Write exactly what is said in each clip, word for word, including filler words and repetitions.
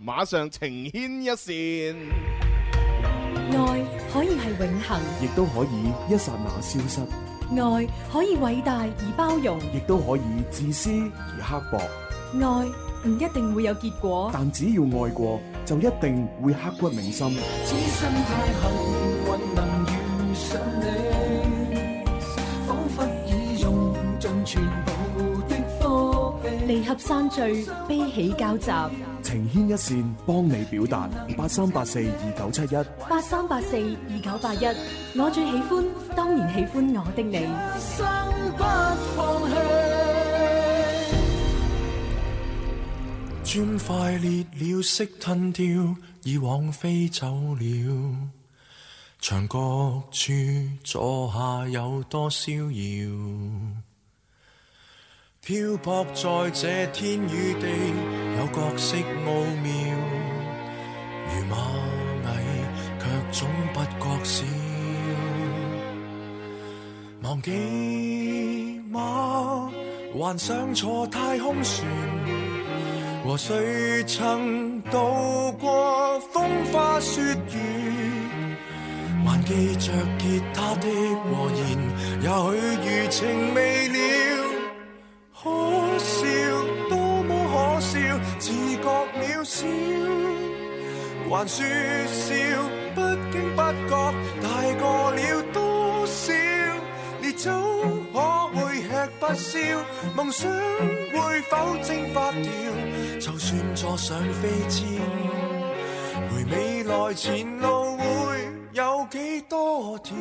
馬上情牽一線。 愛可以係永恆， 亦都可以一剎那消失。 愛可以偉大而包容， 亦都可以自私而刻薄。 愛唔一定會有結果， 但只要愛過，就一定會刻骨銘心。 此生太幸運能遇上你，彷彿已用盡全部的科技。 離合散聚，悲喜交集， 情牽一線，幫你表達。八三八四二九七一， 八三八四二九八一。我最喜歡，當然喜歡我的你。 生不放棄，磚塊裂了，色吞掉，以往飛走了。牆角處坐下有多逍遙，漂泊在這天與地，有角色奧妙。如螞蟻卻總不覺少，忘記嗎？幻想坐太空船，和誰曾渡過風花雪月，還記着吉他的和弦，也許餘情未了。可笑，多麼可笑，自覺渺小，還說笑，不經不覺，大過了多少？烈酒可會吃不消，夢想會否蒸發掉？就算坐上飛氈，回未來前路會有幾多條？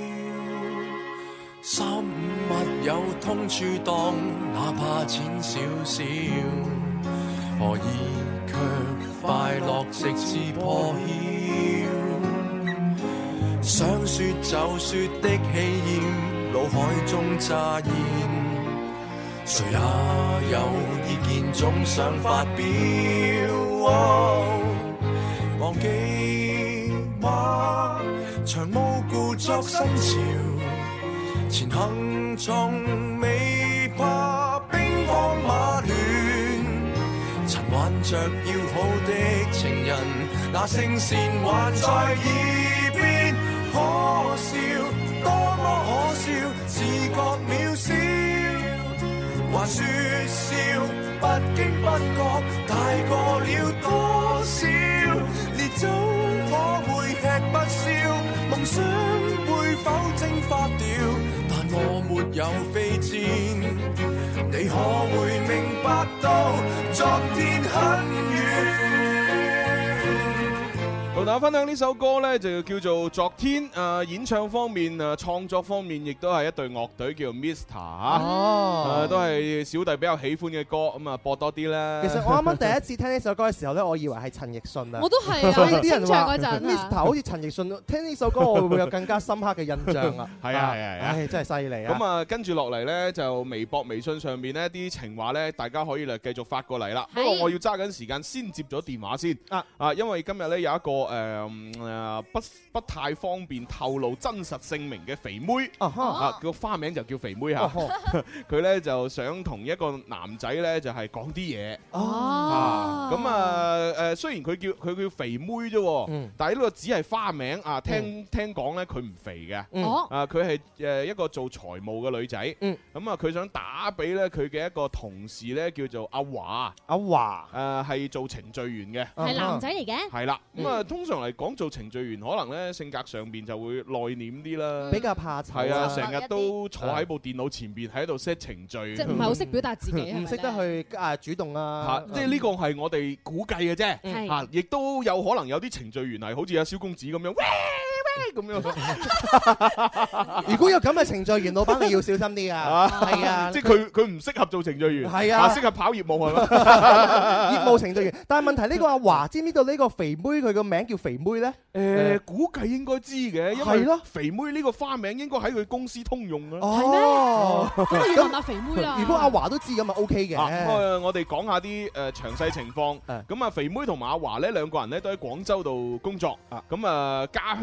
三五密友通處當，哪怕淺少少，何以卻快樂直至破曉？想說就說的氣焰，腦海中乍現，誰也有意見總想發表。哦，忘記嗎？長毛故作新潮，前行從未怕兵荒馬亂，曾挽着要好的情人，那聲線還在耳邊。可笑，多麼可笑，自覺渺小，還說笑，不經不覺，大過了多少？烈酒可會吃不消，夢想會否蒸發掉？但我沒有飛氈，你可會明白到昨天很遠？ 同大家分享呢首歌呢，就叫做《昨天》。誒、呃、演唱方面、誒、呃、創作方面，亦都係一隊樂隊叫 Mister 嚇、 哦呃，都係小弟比較喜歡嘅歌，咁啊播多啲啦。 其實我啱啱第一次聽呢首歌嘅時候咧，我以為係陳奕迅啊。 我都係啊， 所以啲人話清唱嗰陣 Mister 好似陳奕迅，聽呢首歌我會唔會有更加深刻嘅印象啊？ 係啊係啊係啊， 唉真係犀利啊！ 咁啊跟住落嚟呢，就微博、微信上面呢啲情話呢，大家可以嚟繼續發過嚟啦。不過我要揸緊時間先接咗電話先啊啊，因為今日呢有一個誒。呃誒不不太方便透露真實姓名嘅肥妹啊，個花名就叫肥妹嚇。佢咧就想同一個男仔咧就係講啲嘢。哦，咁啊誒，雖然佢叫佢叫肥妹啫，但係呢個只係花名啊。聽聽講咧佢唔肥嘅，啊佢係誒一個做財務嘅女仔。咁啊佢想打俾咧佢嘅一個同事咧叫做阿華。阿華誒係做程序員嘅， 係男仔嚟嘅。 係啦，咁啊通常嚟講做程序員可能咧性格上邊就會內斂啲啦， 比較怕醜。 係啊，成日都坐喺部電腦前邊喺度 set 程序， 即係唔係好識表達自己， 唔識得去啊主動啊。 嚇，即係呢個係我哋估計嘅啫。嚇，亦都有可能有啲程序員係好似阿蕭公子咁樣，喂喂咁樣。 如果有咁嘅程序員，老闆你要小心啲啊。係啊， 即係佢佢唔適合做程序員， 係啊， 適合跑業務係嘛？ 業務程序員。但係問題呢個阿華知唔知道呢個肥妹佢個名叫肥妹咧？ 誒，估計應該知嘅，因為肥妹呢個花名應該喺佢公司通用嘅。 係咩？ 咁要問下肥妹啦。 如果阿華都知咁咪 O K 嘅。 咁我哋講下啲誒詳細情況。咁啊，肥妹同埋阿華呢兩個人咧都喺廣州度工作。咁啊，家鄉咧喺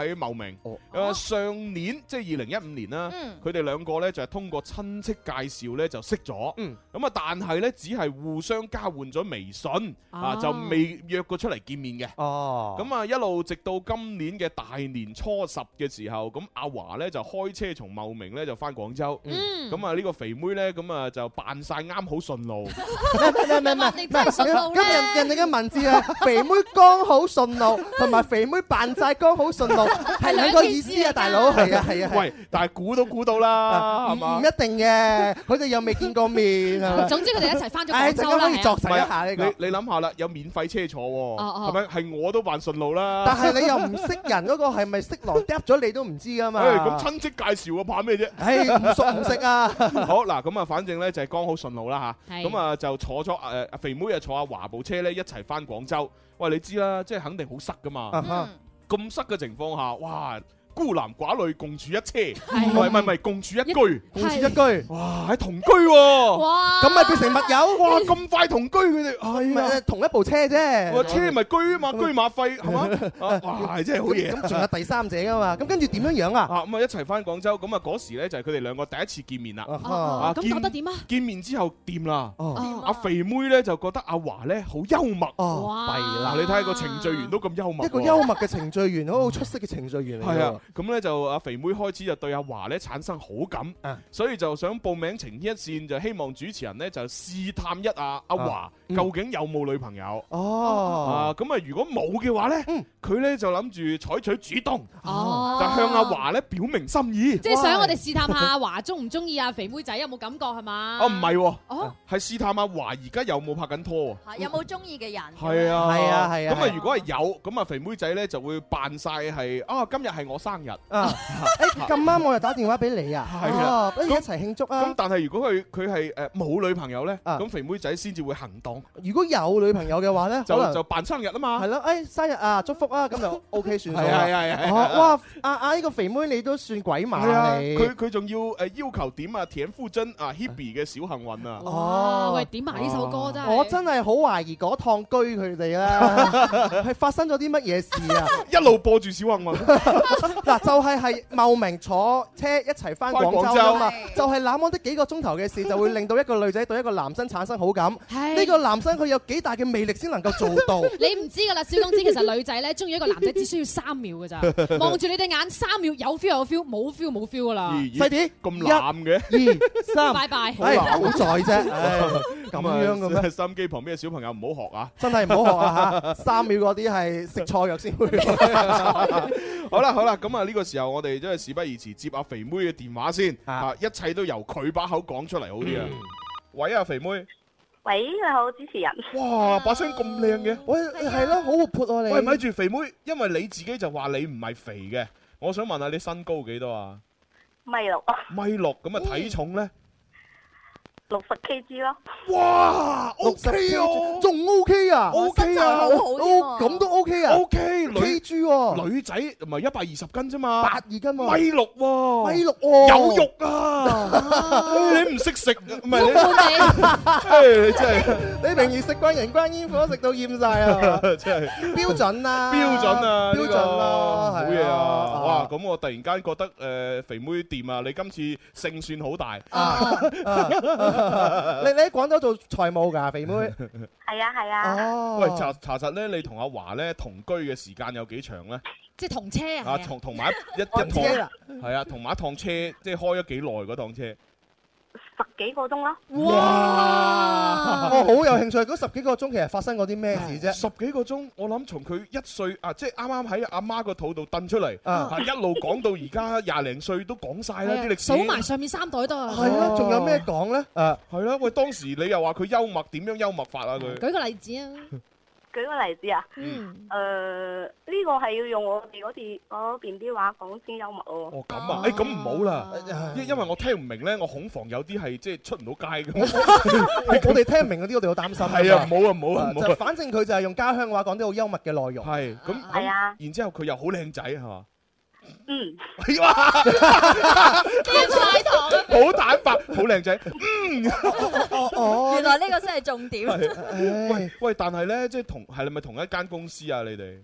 喺茂名。誒上年即係二零一五年啦，佢哋兩個咧就係通過親戚介紹咧就識咗。咁啊，但係咧只係互相交換咗微信啊，就未約過出嚟見面嘅。哦。咁啊，一路直到今年嘅大年初十嘅時候，咁阿華咧就開車從茂名咧就翻廣州。咁啊，呢個肥妹咧咁啊就扮晒啱好順路。 唔係唔係唔係，咁人人哋嘅文字啊，肥妹剛好順路，同埋肥妹扮晒剛好順路，係兩個意思啊，大佬。係啊係啊。 喂，但係估都估到啦，係嘛？ 唔一定嘅，佢哋又未見過面，係咪？ 總之佢哋一齊翻咗廣州啦。 可以作實一下呢個。 你你諗下啦，有免費車坐喎，係咪？係我都扮順路啦。 但係你又唔識人嗰個係咪色狼嗒咗你都唔知噶嘛？ 咁親戚介紹啊，怕咩啫？ 唉，唔熟唔識啊！ 好嗱，咁啊，反正咧就係剛好順路啦嚇。咁啊就坐咗誒阿肥妹啊坐阿華部車咧一齊翻廣州。喂，你知啦，即係肯定好塞噶嘛。咁塞嘅情況下，哇！孤男寡女共處一車，唔係唔係唔係共處一居， 共處一居， 哇！喺同居喎， 哇！ 咁咪變成密友， 哇！咁快同居佢哋，係啊，同一部車啫， 車咪居啊嘛，居馬費係嘛？哇！真係好嘢。 咁仲有第三者噶嘛？咁跟住點樣樣啊？ 啊咁啊一齊翻廣州，咁啊嗰時咧就係佢哋兩個第一次見面啦。 啊咁覺得點啊？ 見面之後掂啦，阿肥妹咧就覺得阿華咧好幽默。 哇！弊啦， 你睇下個程序員都咁幽默， 一個幽默嘅程序員，好出色嘅程序員嚟。 係啊，咁咧就阿肥妹開始就對阿華咧產生好感，所以就想報名情牽一線，就希望主持人咧就試探一下阿華究竟有冇女朋友。哦，啊咁啊如果冇嘅話咧，佢咧就諗住採取主動，就向阿華咧表明心意。 即係想我哋試探下阿華中唔中意阿肥妹仔，有冇感覺係嘛？ 哦唔係，哦係試探阿華而家有冇拍緊拖， 有冇中意嘅人？ 係啊係啊係啊。 咁啊如果係有，咁啊肥妹仔咧就會扮晒係啊今日係我生日。 誒咁啱我又打電話俾你啊，係啊，不如一齊慶祝啊！ 咁但係如果佢佢係誒冇女朋友咧，咁肥妹仔先至會行動。 如果有女朋友嘅話咧， 就就扮生日啊嘛。 係咯，誒生日啊，祝福啊，咁就 O K 算數。 係係係係。 哇！阿阿呢個肥妹你都算鬼馬啊！你佢佢仲要誒要求點啊田馥甄啊 Hebe 嘅小幸運啊。 哦，喂，點埋呢首歌真係。 我真係好懷疑嗰趟居佢哋啦，係發生咗啲乜嘢事啊？ 一路播住小幸運。 嗱，就係係茂名坐車一齊翻廣州啊嘛，就係那麼的幾個鐘頭嘅事，就會令到一個女仔對一個男生產生好感。呢個男生佢有幾大嘅魅力先能夠做到？ 你唔知㗎啦，小公子其實女仔咧中意一個男仔只需要三秒㗎咋，望住你對眼三秒有 feel 有 feel，冇 feel 冇 feel 㗎啦。 細啲咁濫嘅， 二三， 拜拜。 好在啫，咁樣嘅咩？ 收音機旁邊嘅小朋友唔好學啊！ 真係唔好學啊嚇！三秒嗰啲係食錯藥先會。 好啦好啦，咁啊呢個時候我哋真係事不宜遲，接阿肥妹嘅電話先啊！一切都由佢把口講出嚟好啲啊！喂啊，肥妹！ 喂，你好，主持人。 哇，把聲咁靚嘅， 喂，係咯，好活潑啊你。 喂，咪住肥妹，因為你自己就話你唔係肥嘅，我想問下你身高幾多啊？ 米六啊。 米六，咁啊體重咧？ 六十 K G 咯。 哇 ，OK 哦， 仲 OK 啊 ，OK 啊， 好好咁都 OK 啊 ，OK， K G 喎， 女仔唔係一百二十斤啫嘛， 百二斤喎， 米六喎， 米六喎， 有肉啊，你唔識食，唔係你，你真係， 你平時食慣人間煙火食到厭晒啊， 真係標準啦， 標準啊， 標準啦， 好嘢啊，哇，咁我突然間覺得誒肥妹掂啊，你今次勝算好大。 你你喺廣州做財務㗎，肥妹？ 係啊係啊。 哦。 喂，查查實咧，你同阿華咧同居嘅時間有幾長咧？ 即係同車啊？ 啊，同同埋一一趟係啊，同埋一趟車，即係開咗幾耐嗰趟車？ 十幾個鐘咯。 哇！我好有興趣，嗰十幾個鐘其實發生過啲咩事啫？ 十幾個鐘，我諗從佢一歲啊，即係啱啱喺阿媽個肚度掟出嚟，啊一路講到而家廿零歲都講晒啦啲歷史， 數埋上面三代都係。 係啦，仲有咩講咧？ 誒，係啦，喂，當時你又話佢幽默，點樣幽默法啊佢？ 舉個例子啊！ 舉個例子啊， 嗯， 誒呢個係要用我哋嗰啲嗰邊啲話講先幽默喎。 哦咁啊，誒咁唔好啦，因因為我聽唔明咧，我恐防有啲係即係出唔到街咁。 我哋聽唔明嗰啲，我哋好擔心。 係啊，唔好啊，唔好啊，唔好。 反正佢就係用家鄉話講啲好幽默嘅內容。 係咁， 係啊。 然之後佢又好靚仔係嘛？ 嗯。 哇！ 點晒堂啊！ 好坦白，好靚仔。嗯。 哦哦。 原來呢個先係重點。 喂喂，但係咧，即係同係咪同一間公司啊？你哋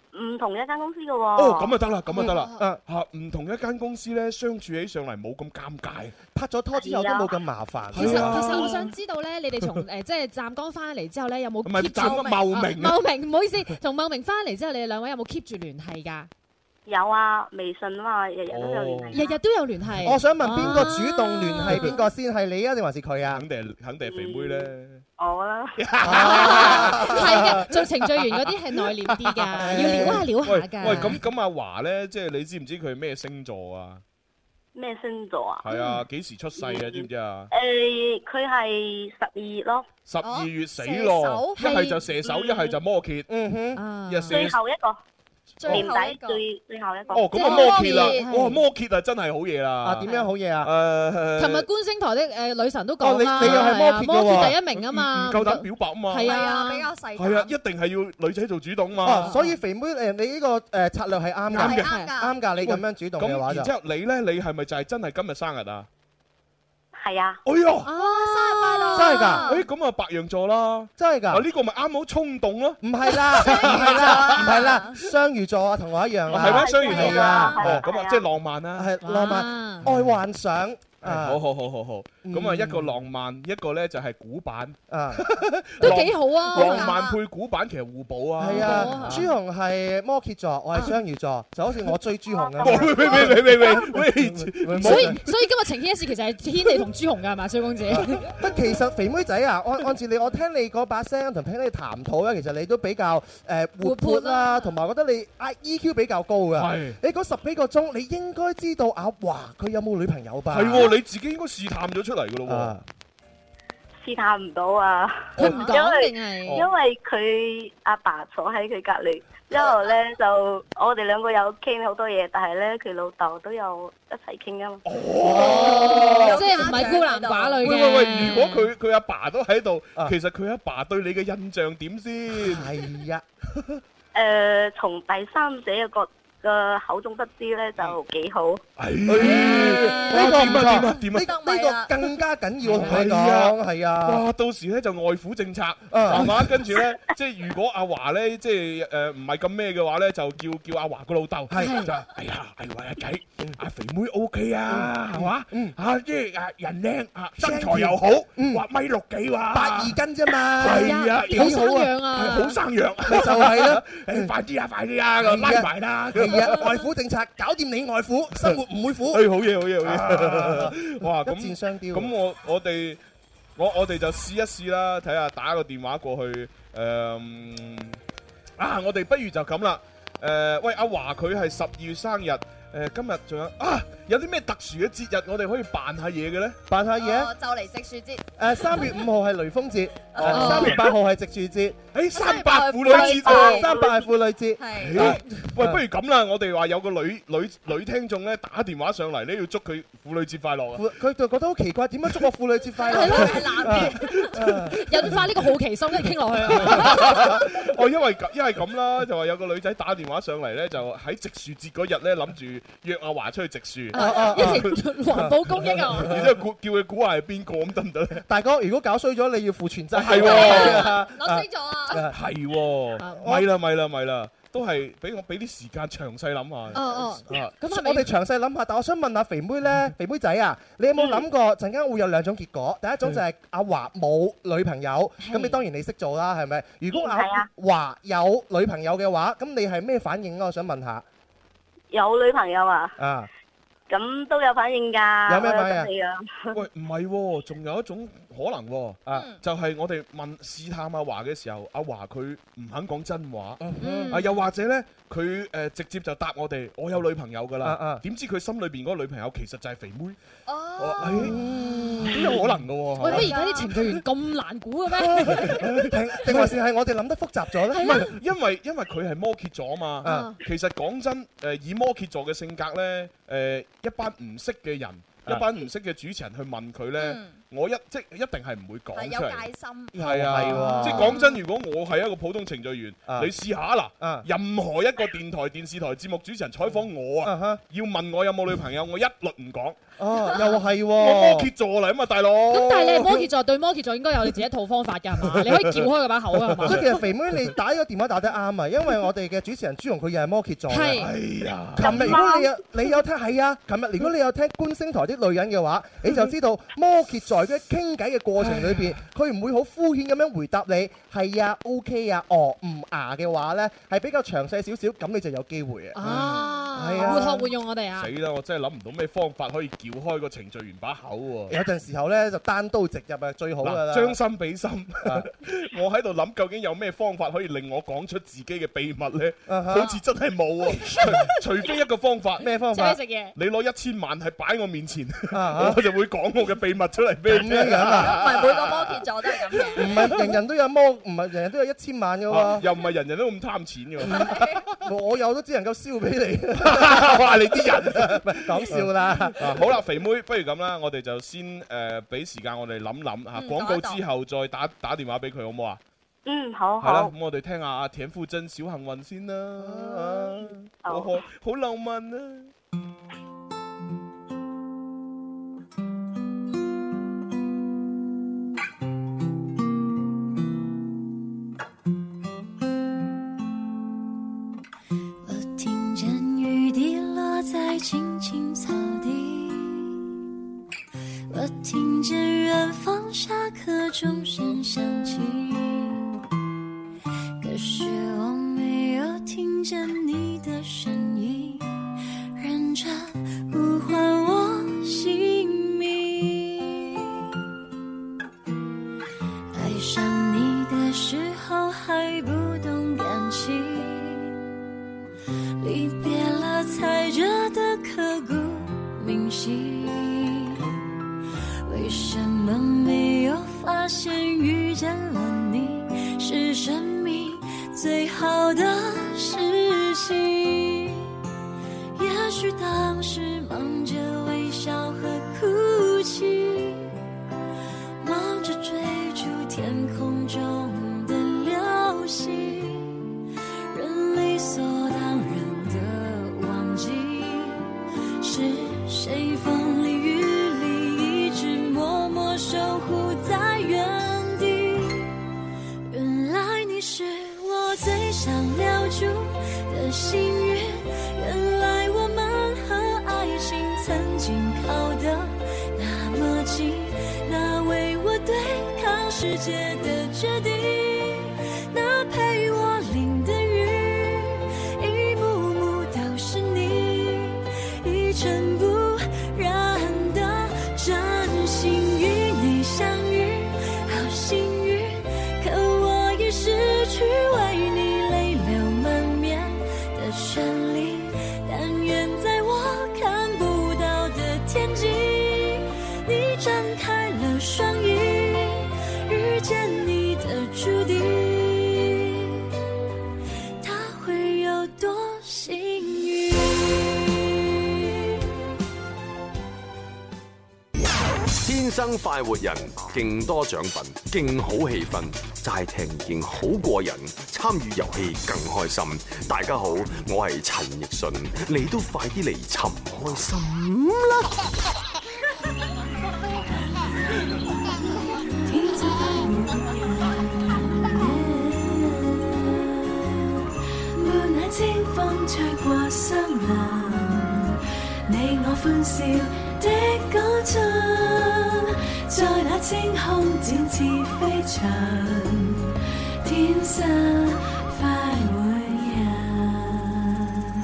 唔同一間公司嘅喎。 哦，咁啊得啦，咁啊得啦。 嗯嚇，唔同一間公司咧，相處起上嚟冇咁尷尬， 拍咗拖之後都冇咁麻煩。 其實其實我想知道咧，你哋從誒即係湛江翻嚟之後咧，有冇 keep 住？ 茂名茂名唔好意思，從茂名翻嚟之後，你哋兩位有冇 keep 住聯繫㗎？ 有啊，微信啊嘛，日日都有聯繫。 日日都有聯繫。 我想問邊個主動聯繫邊個先？係你啊定還是佢啊？ 肯定係肯定係肥妹咧。 我啦。 係嘅，做程序員嗰啲係內斂啲㗎，要撩下撩下㗎。 喂，咁咁阿華咧，即係你知唔知佢係咩星座啊？ 咩星座啊？ 係啊，幾時出世啊？知唔知啊？ 誒，佢係十二月咯。 十二月死咯，一係就射手，一係就摩羯。 嗯哼， 一最後一個。年底最最最後一個。 哦，咁啊摩羯啦，哇摩羯啊真係好嘢啦。 啊點樣好嘢啊？ 誒， 琴日觀星台的誒女神都講啦， 你你又係摩羯嘅喎， 摩羯第一名啊嘛， 唔夠膽表白啊嘛。 係啊， 比較細。 係啊，一定係要女仔做主動嘛。 所以肥妹誒，你呢個誒策略係啱嘅， 啱㗎，你咁樣主動嘅話就。 咁然之後你咧，你係咪就係真係今日生日啊？ 係啊！ 哎呀， 啊，生日快樂！ 真係㗎！ 誒咁啊，白羊座啦， 真係㗎！ 啊呢個咪啱好衝動咯？ 唔係啦，唔係啦，唔係啦，雙魚座啊，同我一樣啊。 係咩？雙魚係啊！ 哦，咁啊，即係浪漫啦， 係浪漫，愛幻想。 好好好好好，咁啊一個浪漫，一個咧就係古板， 啊都幾好啊！ 浪漫配古板其實互補啊。 係啊，朱紅係摩羯座，我係雙魚座，就好似我追朱紅咁。 喂喂喂喂喂喂！ 所以所以今日情牽一線其實係天地同朱紅㗎係嘛，蕭公子？ 不其實肥妹仔啊，按按照你，我聽你嗰把聲同聽你談吐咧，其實你都比較誒活潑啦，同埋覺得你 I Q 比較高㗎。係你嗰十幾個鐘，你應該知道阿華佢有冇女朋友吧？ 係喎。你自己應該試探咗出嚟噶咯喎，試探唔到啊！ 佢唔講定係因為佢阿爸坐喺佢隔離，之後咧就我哋兩個有傾好多嘢，但係咧佢老豆都有一齊傾啊嘛。 哦，即係唔係孤男寡女嘅。 喂喂喂，如果佢佢阿爸都喺度，其實佢阿爸對你嘅印象點先？ 係啊， 誒，從第三者嘅角個口中得知咧就幾好。 呢個唔錯， 點啊點啊， 呢呢個更加緊要，我同你講係啊。 哇，到時咧就外父政策係嘛，跟住咧即係如果阿華咧即係誒唔係咁咩嘅話咧，就叫叫阿華個老豆係就哎呀，哎喂阿仔，阿肥妹 O K 啊，係嘛？啊即係啊人靚啊，身材又好，話米六幾話， 八二斤啫嘛， 係啊， 好生養啊， 好生養， 咪就係咯。 誒快啲啊，快啲啊，拉埋啦！ 外父政策搞掂你外父，生活唔會苦。 誒好嘢好嘢好嘢！哇咁一箭雙雕。 咁我我哋我我哋就試一試啦，睇下打個電話過去誒啊！我哋不如就咁啦。誒喂，阿華佢係十二月生日。誒今日仲有啊，有啲咩特殊嘅節日我哋可以扮下嘢嘅咧？ 扮下嘢， 就嚟植樹節。 誒三月五號係雷鋒節，三月八號係植樹節， 誒三八婦女節， 三八係婦女節。 係。喂，不如咁啦，我哋話有個女女女聽眾咧打電話上嚟咧，要祝佢婦女節快樂啊！ 佢就覺得好奇怪，點樣祝我婦女節快樂？ 係咯，係男嘅，引發呢個好奇心，一傾落去啊！ 哦，因為因為咁啦，就話有個女仔打電話上嚟咧，就喺植樹節嗰日咧諗住約阿華出去植樹，一齊環保公益啊！ 然之後估叫佢估下係邊個咁得唔得咧？ 大哥，如果搞衰咗，你要負全責。 係喎， 攞衰咗啊！ 係喎，咪啦咪啦咪啦，都係俾我俾啲時間詳細諗下。 哦哦， 咁我哋詳細諗下。但我想問下肥妹咧，肥妹仔啊，你有冇諗過陣間會有兩種結果？第一種就係阿華冇女朋友，咁你當然你識做啦，係咪？如果阿華有女朋友嘅話，咁你係咩反應啊？我想問下。 有女朋友啊？ 啊， 咁都有反應㗎。 有咩反應啊？ 喂，唔係喎，仲有一種可能喎，啊，就係我哋問試探阿華嘅時候，阿華佢唔肯講真話，啊，又或者咧，佢誒直接就答我哋，我有女朋友㗎啦，點知佢心裏邊嗰個女朋友其實就係肥妹，哦，都有可能㗎喎。 喂，乜而家啲程序員咁難估嘅咩？ 定定還是係我哋諗得複雜咗咧？ 唔係，因為因為佢係摩羯座啊嘛，其實講真，誒以摩羯座嘅性格咧，誒一班唔識嘅人，一班唔識嘅主持人去問佢咧， 我一即一定係唔會講出嚟。 有戒心。 係啊，即係講真，如果我係一個普通程序員，你試下嗱，任何一個電台、電視台節目主持人採訪我啊，要問我有冇女朋友，我一律唔講。 哦，又係喎， 我摩羯座嚟啊嘛，大佬。 咁但係你係摩羯座，對摩羯座應該有你自己一套方法㗎係嘛？你可以撬開佢把口㗎係嘛？ 所以其實肥妹你打呢個電話打得啱啊，因為我哋嘅主持人朱紅佢又係摩羯座。 係。 係啊。琴日如果你有你有聽係啊，琴日如果你有聽觀星台啲女人嘅話，你就知道摩羯座喺傾偈嘅過程裏邊，佢唔會好敷衍咁樣回答你係啊、OK 啊、哦、唔啊嘅話咧，係比較詳細少少，咁你就有機會啊。 啊， 係啊， 活學活用我哋啊。 死啦！我真係諗唔到咩方法可以撬開個程序員把口喎。 有陣時候咧就單刀直入啊，最好㗎啦。 將心比心，我喺度諗究竟有咩方法可以令我講出自己嘅秘密咧？好似真係冇喎，除非一個方法。 咩方法？ 食嘢。 你攞一千萬係擺我面前，我就會講我嘅秘密出嚟俾你聽。 咁啊？ 唔係每個摩羯座都係咁嘅。 唔係人人都有摩，唔係人人都有一千萬嘅喎。 又唔係人人都咁貪錢嘅。 我有都只能夠燒俾你。 哇！你啲人， 唔係講笑啦。 好啦，肥妹，不如咁啦，我哋就先誒俾時間我哋諗諗嚇，廣告之後再打打電話俾佢好唔好啊？ 嗯，好係啦， 好。 咁我哋聽下阿田馥甄小幸運先啦，好好好浪漫啊！ 我聽見雨滴落在青青草地，我聽見遠方下課鐘聲響起，可是我沒有聽見你的聲音，認真呼喚我姓名。愛上你的時候還不懂感情，離別了才覺得刻骨銘心，為什麼沒有發現遇見了你是生命最好的事情？也許當時忙着微笑和哭泣，忙着追逐天空中的流星，人理所當然的忘記是誰風裡雨裡一直默默守護在原地。原來你是我最想留住的幸運，原來我們和愛情曾經靠得那麼近，那為我對抗世界的決定，那陪我淋的雨，一幕幕都是你，一塵不染的真心與你相遇，好幸運，可我已失去為你淚流滿面的權利，但願在我看不到的天際，你張開了雙翼，遇見你的注定，他會有多幸運？ 天生快活人，勁多獎品，勁好氣氛，齋聽已經好過癮，參與遊戲更開心。大家好，我係陳奕迅，你都快啲嚟尋開心啦！ 伴那清風吹過森林，你我歡笑的歌唱，在那青空展翅飛翔，天生快活人。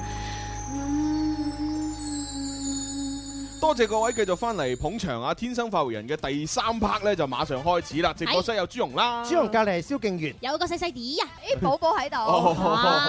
多謝各位繼續翻嚟捧場啊！天生快活人嘅第三 part 咧就馬上開始啦！直播室有朱紅啦， 朱紅隔離係蕭敬元， 有個細細啲啊， 誒寶寶喺度。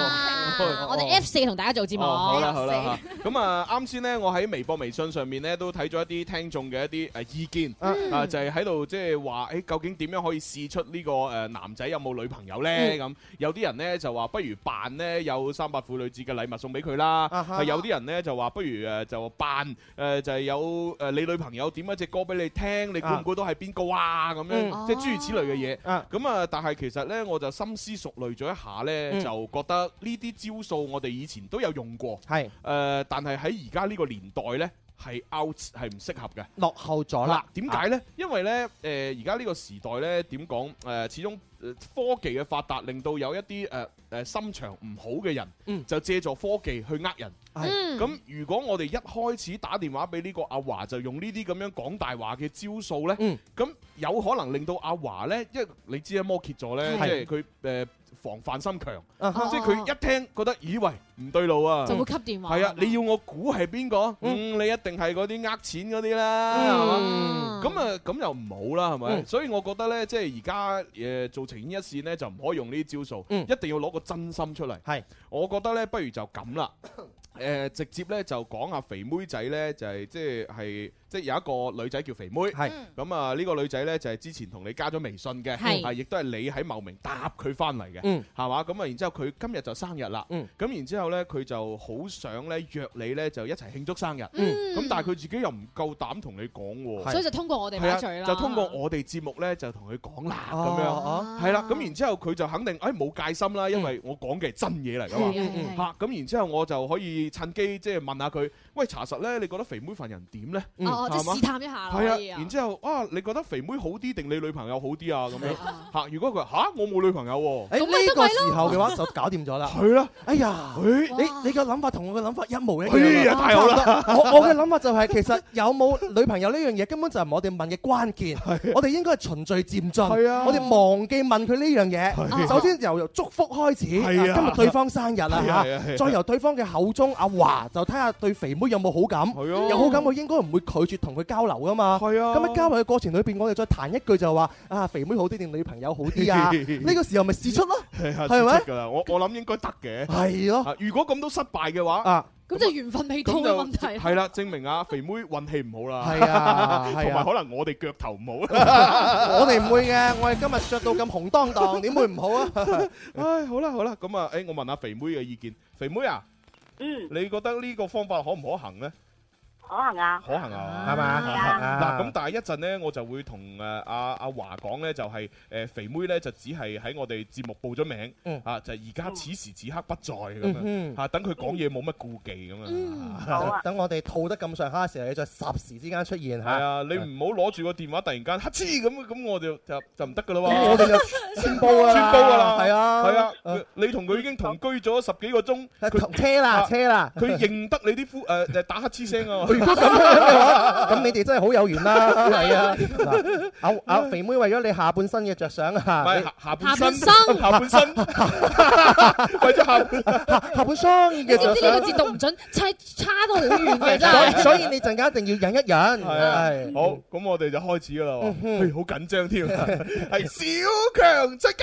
我哋 F 四同大家做節目。 好啦好啦嚇，咁啊啱先咧，我喺微博、微信上面咧都睇咗一啲聽眾嘅一啲誒意見，啊就係喺度即係話誒究竟點樣可以試出呢個誒男仔有冇女朋友咧？咁有啲人咧就話不如扮咧有三八婦女節嘅禮物送俾佢啦，係有啲人咧就話不如誒就扮誒就係有誒你女朋友點一隻歌俾你聽，你估唔估到係邊個啊？咁樣即係諸如此類嘅嘢。咁啊，但係其實咧我就深思熟慮咗一下咧，就覺得呢啲招數我哋以前都有用過，係誒、呃，但係喺而家呢個年代咧係 out 係唔適合嘅， 落後咗啦。 點解咧？因為咧誒而家呢個時代咧點講誒，始終科技嘅發達令到有一啲誒誒心腸唔好嘅人，嗯、就借助科技去呃人。咁、嗯、如果我哋一開始打電話俾呢個阿華，就用呢啲咁樣講大話嘅招數咧，咁、嗯、有可能令到阿華咧，因為你知啊摩羯座咧，即係佢誒防範心強，啊、即係佢一聽覺得以為唔對路啊， 就會吸電話。 係啊，你要我估係邊個？嗯，你一定係嗰啲呃錢嗰啲啦，係嘛？咁啊，咁又唔好啦，係咪？嗯、所以我覺得咧，即係而家誒做情牽一線咧，就唔可以用呢啲招數，嗯、一定要攞個真心出嚟。係，我覺得咧，不如就咁啦。誒、呃、直接咧就講下肥妹仔咧，就係即係係即係有一個女仔叫肥妹，係咁啊呢個女仔咧就係、是、之前同你加咗微信嘅，係亦都係你喺茂名搭佢翻嚟嘅，嗯，係嘛？咁啊然之後佢今日就生日啦，嗯，咁然之後咧佢就好想咧約你咧就一齊慶祝生日，嗯，咁但係佢自己又唔夠膽同你講喎， 所以就通過我哋把嘴啦， 就通過我哋節目咧就同佢講啦，咁、哦、樣係啦，咁、啊、然之後佢就肯定誒冇、哎、戒心啦，因為我講嘅係真嘢嚟㗎嘛，嚇咁、嗯、然之後我就可以趁機即係。問下佢，喂，查實咧，你覺得肥妹份人點咧？ 哦，即係試探一下。 係啊，然之後啊，你覺得肥妹好啲定你女朋友好啲啊？咁樣嚇，如果佢話嚇，我冇女朋友喎， 誒呢個時候嘅話就搞掂咗啦。係啦，哎呀，你你個諗法同我嘅諗法一模一樣。太好啦！我我嘅諗法就係其實有冇女朋友呢樣嘢根本就係我哋問嘅關鍵。我哋應該係循序漸進。係啊，我哋忘記問佢呢樣嘢。首先由祝福開始。係啊，今日對方生日啦嚇，再由對方嘅口中阿華就睇下對肥妹有冇好感，有好感我應該唔會拒絕同佢交流噶嘛。係啊，咁喺交流嘅過程裏邊，我哋再彈一句就話啊，肥妹好啲定女朋友好啲啊？呢個時候咪試出咯，係咪？㗎啦，我我諗應該得嘅。係咯，如果咁都失敗嘅話啊， 咁就緣分未到嘅問題。 係啦，證明啊肥妹運氣唔好啦。 係啊， 同埋可能我哋腳頭唔好。 我哋唔會嘅，我哋今日着到咁紅當當，點會唔好啊？ 唉，好啦好啦，咁啊，誒，我問下肥妹嘅意見，肥妹啊。嗯，你覺得呢個方法可唔可行咧？ 可行啊， 可行啊，係嘛？嗱，咁但係一陣咧，我就會同誒阿阿華講咧，就係誒肥妹咧就只係喺我哋節目報咗名，啊就係而家此時此刻不在咁樣，嚇等佢講嘢冇乜顧忌咁樣。 好啊，等我哋套得咁上下嘅時候，你再霎時之間出現嚇。 係啊，你唔好攞住個電話突然間乞嗤咁，咁我就就就唔得噶啦喎。 我哋就穿煲啊， 穿煲噶啦， 係啊， 係啊，你同佢已經同居咗十幾個鐘， 佢車啦車啦， 佢認得你啲呼誒誒打乞嗤聲啊！ 如果咁樣嘅話，咁你哋真係好有緣啦，係啊！嗱，阿阿肥妹為咗你下半身嘅着想啊， 唔係下半身，下半身，為咗下下半身嘅着想。 你知唔知呢個字讀唔準，差差到好遠嘅真係。 所以你陣間一定要忍一忍。 係好，咁我哋就開始噶啦喎，好緊張添，係小強出擊。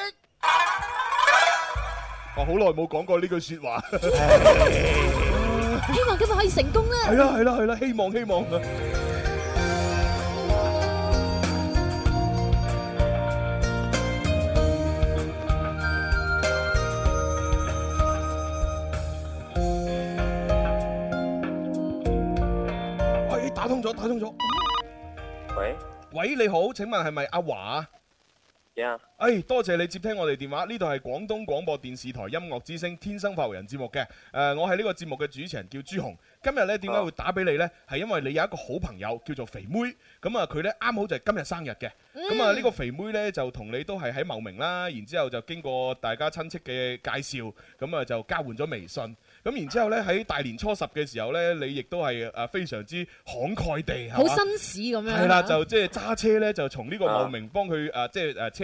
我好耐冇講過呢句説話。 希望今日可以成功啦！ 係啦係啦係啦，希望希望啊！喂，打通咗，打通咗。 喂喂，你好，請問係咪阿華？ Yeah. 哎，多謝你接聽我哋電話，呢度係廣東廣播電視台音樂之聲天生快活人節目嘅。誒、呃，我係呢個節目嘅主持人叫朱紅。今日呢點解會打俾你呢？係因為你有一個好朋友叫做肥妹，咁啊佢呢啱好就係今日生日嘅。咁啊呢個肥妹呢，就同你都係喺茂名啦，然之後就經過大家親戚嘅介紹，咁啊就交換咗微信。咁然之後咧喺大年初十嘅時候咧，你亦都係誒非常之慷慨地， 好紳士咁樣。 係啦，就即係揸車咧，就從呢個茂名幫佢誒即係誒車到翻嚟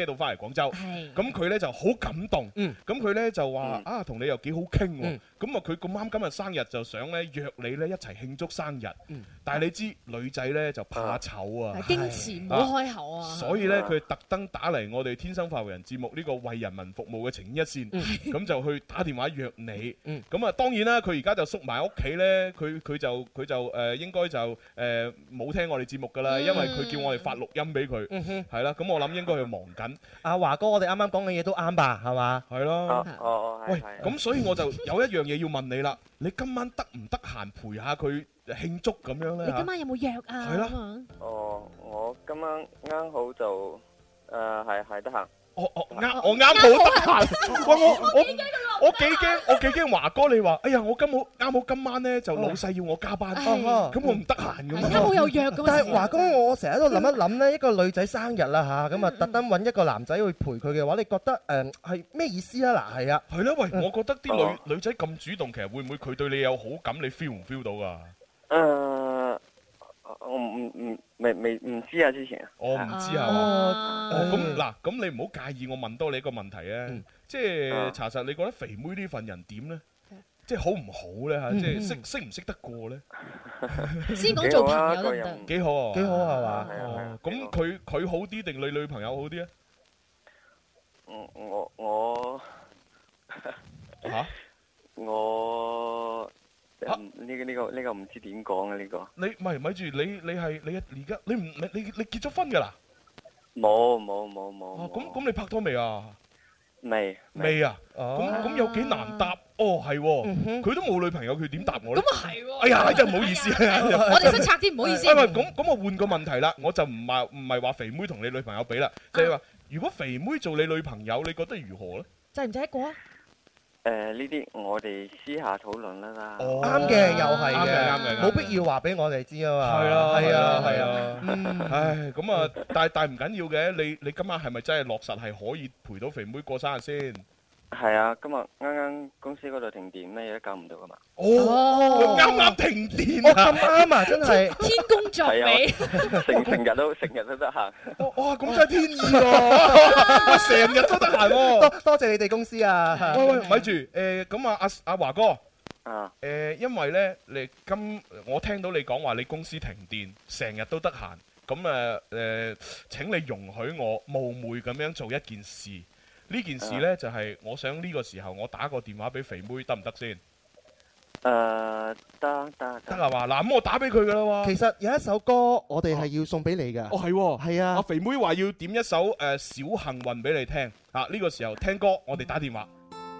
廣州。咁佢咧就好感動。咁佢咧就話啊，同你又幾好傾喎。咁啊，佢咁啱今日生日就想咧約你咧一齊慶祝生日。但係你知女仔咧就怕醜啊， 矜持唔好開口啊。 所以咧佢特登打嚟我哋天生快活人節目呢個為人民服務嘅情牽一線，咁就去打電話約你。咁啊當然啦，佢而家就縮埋屋企咧，佢佢就佢就誒應該就誒冇聽我哋節目㗎啦，因為佢叫我哋發錄音俾佢，係啦。咁我諗應該佢忙緊。 阿華哥，我哋啱啱講嘅嘢都啱吧，係嘛？ 係咯。 哦， 喂，咁所以我就有一樣嘢要問你啦，你今晚得唔得閒陪下佢慶祝咁樣咧？ 你今晚有冇約啊？ 係啦。 哦，我今晚啱好就誒係係得閒。 我我啱我啱好得閒。喂，我我我幾驚我幾驚華哥你話，哎呀我今好啱好今晚咧就老細要我加班，咁我唔得閒咁。 啱好有約咁。 但係華哥，我成日都諗一諗咧，一個女仔生日啦嚇，咁啊特登揾一個男仔去陪佢嘅話，你覺得誒係咩意思啊？嗱，係啊， 係啦，喂，我覺得啲女女仔咁主動，其實會唔會佢對你有好感？你 feel 唔 feel 到㗎？ 誒。我唔唔未未唔知啊，之前我唔知係嘛？咁嗱，咁你唔好介意我問多你一個問題啊，即係查實你覺得肥妹呢份人點咧？即係好唔好咧嚇？即係識識唔識得過咧？ 先講做朋友得唔得？ 幾好啊！ 幾好係嘛？ 哦，咁佢佢好啲定你女朋友好啲啊？ 我我我嚇我。呢個呢個呢個唔知點講啊！呢個你唔係咪住你你係你而家你唔你你你結咗婚㗎啦？ 冇冇冇冇。 哦，咁咁你拍拖未啊？ 未未啊？咁咁有幾難答？哦，係喎，佢都冇女朋友，佢點答我咧？ 咁啊係喎！ 哎呀，真係唔好意思啊！ 我哋識拆啲唔好意思。 喂，咁咁我換個問題啦，我就唔係唔係話肥妹同你女朋友比啦，就係話如果肥妹做你女朋友，你覺得如何咧？ 制唔制得過啊？ 誒呢啲我哋私下討論啦啦。 啱嘅，又係嘅， 啱嘅， 冇必要話俾我哋知啊嘛。 係啊， 係啊，係啊。 唉，咁啊，但係但係唔緊要嘅，你你今晚係咪真係落實係可以陪到肥妹過生日先？ 係啊，今日啱啱公司嗰度停電，咩嘢都搞唔到噶嘛。 哦，啱啱停電啊！咁啱啊，真係天公作美， 成成日都成日都得閒。 哇，咁真係天意喎！成日都得閒喎。 多多謝你哋公司啊！ 喂喂，咪住誒，咁啊阿阿華哥啊誒，因為咧你今我聽到你講話你公司停電，成日都得閒，咁誒誒請你容許我冒昧咁樣做一件事。呢件事呢，就係我想呢個時候我打個電話俾肥妹得唔得先？ 誒得得得啊嘛，嗱咁我打俾佢噶啦喎。 其實有一首歌我哋係要送俾你㗎。 哦係喎， 係啊。 阿肥妹話要點一首誒小幸運俾你聽啊！呢個時候聽歌，我哋打電話。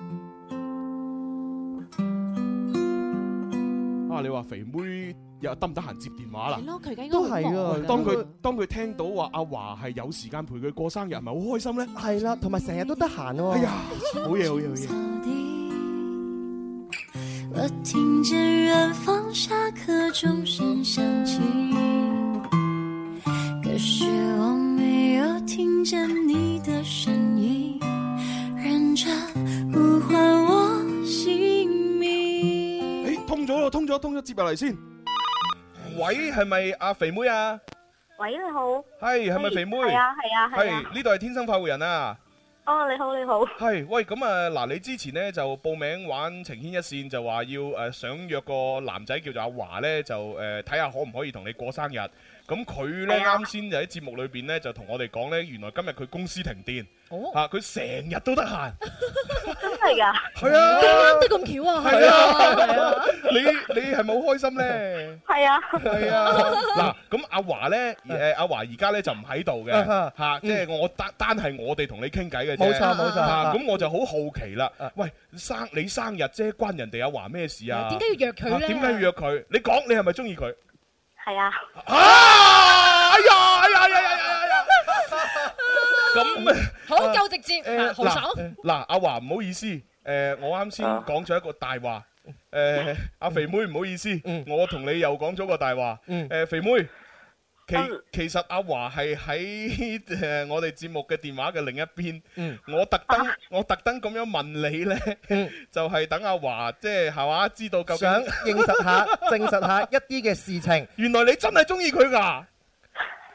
啊！你話肥妹又得唔得閒接電話啦？ 係咯，佢而家應該都係啊。 當佢當佢聽到話阿華係有時間陪佢過生日，係咪好開心咧？ 係啦，同埋成日都得閒喎。 哎呀，好嘢好嘢好嘢！ 我聽見遠方下課鐘聲響起，可是我沒有聽見你的聲音，認真呼喚我姓名。 誒，通咗咯，通咗，通咗，接入嚟先。喂，係咪阿肥妹啊？ 喂，你好。 係，係咪肥妹？ 係啊，係啊，係啊。 係，呢度係天生快活人啊。 哦，你好，你好。 係，喂，咁啊，嗱，你之前咧就報名玩情牽一線，就話要誒想約個男仔叫做阿華咧，就誒睇下可唔可以同你過生日。咁佢咧啱先就喺節目裏邊咧就同我哋講咧，原來今日佢公司停電，嚇佢成日都得閒。 真係㗎？ 係啊， 咁啱得咁巧啊！ 係啊，係啊，你你係咪好開心咧？ 係啊， 係啊。嗱，咁阿華咧，誒阿華而家咧就唔喺度嘅，嚇，即係我單單係我哋同你傾偈嘅啫。 冇錯冇錯。 嚇，咁我就好好奇啦。喂，生你生日啫，關人哋阿華咩事啊？ 點解要約佢咧？ 點解要約佢？你講，你係咪中意佢？ 係啊！ 啊！哎呀！哎呀！哎呀！哎呀！哎呀！咁好夠直接，豪爽。 嗱，阿華唔好意思，誒，我啱先講咗一個大話，誒，阿肥妹唔好意思，我同你又講咗個大話，誒，肥妹，其其實阿華係喺誒我哋節目嘅電話嘅另一邊，我特登我特登咁樣問你咧，就係等阿華即係係嘛，知道究竟想認實下、證實下一啲嘅事情。 原來你真係中意佢㗎？